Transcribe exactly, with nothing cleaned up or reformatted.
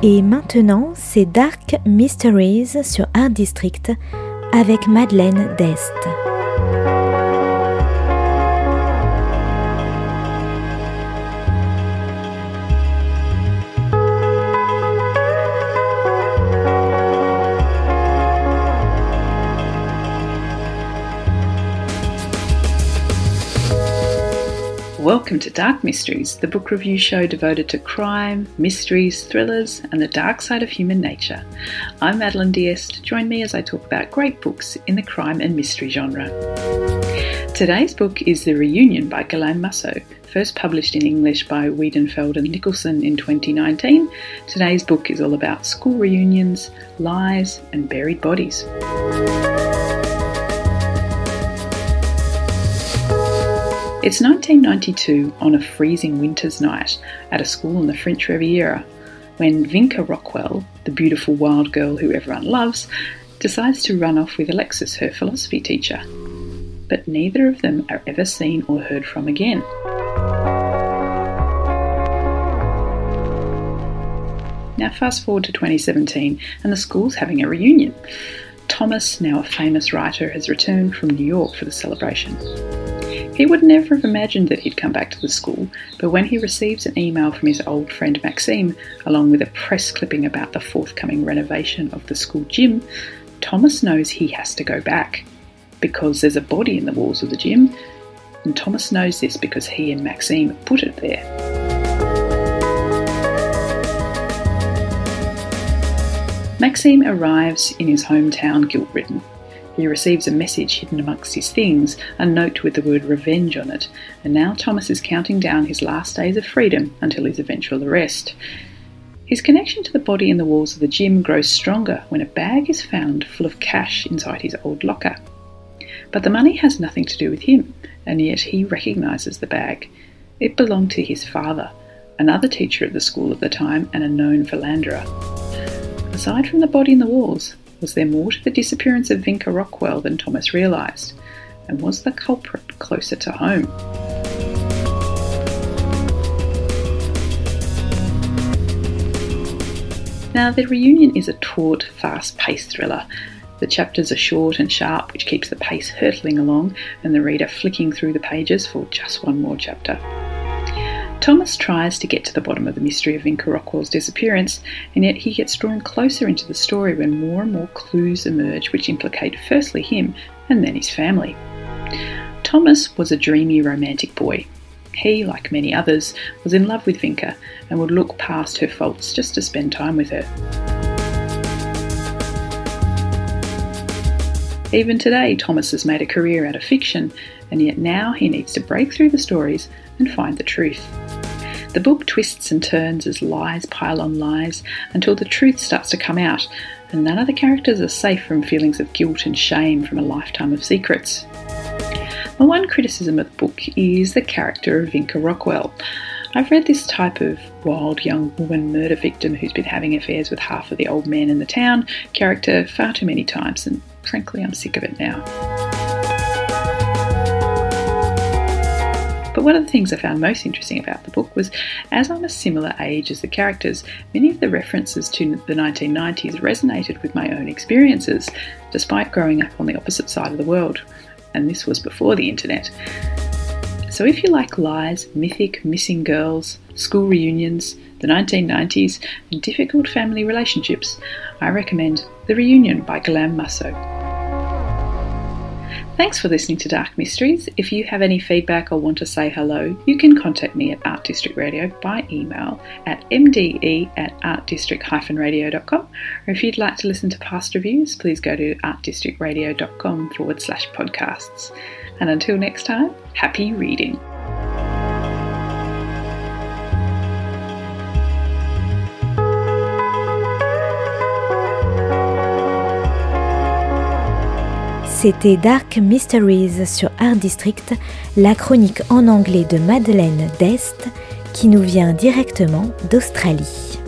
Et maintenant, c'est Dark Mysteries sur Art District avec Madeleine Dest. Welcome to Dark Mysteries, the book review show devoted to crime, mysteries, thrillers, and the dark side of human nature. I'm Madeleine D'Este. Join me as I talk about great books in the crime and mystery genre. Today's book is The Reunion by Guillaume Musso, first published in English by Wiedenfeld and Nicholson in twenty nineteen. Today's book is all about school reunions, lies, and buried bodies. It's nineteen ninety-two on a freezing winter's night at a school in the French Riviera when Vinca Rockwell, the beautiful wild girl who everyone loves, decides to run off with Alexis, her philosophy teacher. But neither of them are ever seen or heard from again. Now fast forward to twenty seventeen and the school's having a reunion. Thomas, now a famous writer, has returned from New York for the celebration. He would never have imagined that he'd come back to the school, but when he receives an email from his old friend Maxime, along with a press clipping about the forthcoming renovation of the school gym, Thomas knows he has to go back, because there's a body in the walls of the gym, and Thomas knows this because he and Maxime put it there. Maxime arrives in his hometown guilt-ridden. He receives a message hidden amongst his things, a note with the word revenge on it, and now Thomas is counting down his last days of freedom until his eventual arrest. His connection to the body in the walls of the gym grows stronger when a bag is found full of cash inside his old locker. But the money has nothing to do with him, and yet he recognises the bag. It belonged to his father, another teacher at the school at the time and a known philanderer. Aside from the body in the walls, was there more to the disappearance of Vinca Rockwell than Thomas realised? And was the culprit closer to home? Now, The Reunion is a taut, fast-paced thriller. The chapters are short and sharp, which keeps the pace hurtling along and the reader flicking through the pages for just one more chapter. Thomas tries to get to the bottom of the mystery of Vinca Rockwell's disappearance, and yet he gets drawn closer into the story when more and more clues emerge which implicate firstly him and then his family. Thomas was a dreamy romantic boy. He, like many others, was in love with Vinca and would look past her faults just to spend time with her. Even today, Thomas has made a career out of fiction, and yet now he needs to break through the stories and find the truth. The book twists and turns as lies pile on lies until the truth starts to come out, and none of the characters are safe from feelings of guilt and shame from a lifetime of secrets. My one criticism of the book is the character of Vinca Rockwell. I've read this type of wild young woman murder victim who's been having affairs with half of the old men in the town character far too many times, and frankly I'm sick of it now. But one of the things I found most interesting about the book was, as I'm a similar age as the characters, many of the references to the nineteen nineties resonated with my own experiences, despite growing up on the opposite side of the world. And this was before the internet. So if you like lies, mythic missing girls, school reunions, the nineteen nineties, and difficult family relationships, I recommend The Reunion by Guillaume Musso. Thanks for listening to Dark Mysteries. If you have any feedback or want to say hello, you can contact me at Art District Radio by email at m d e at art district dash radio dot com, or if you'd like to listen to past reviews, please go to artdistrictradio.com forward slash podcasts. And until next time, happy reading. C'était Dark Mysteries sur Art District, la chronique en anglais de Madeleine Dest qui nous vient directement d'Australie.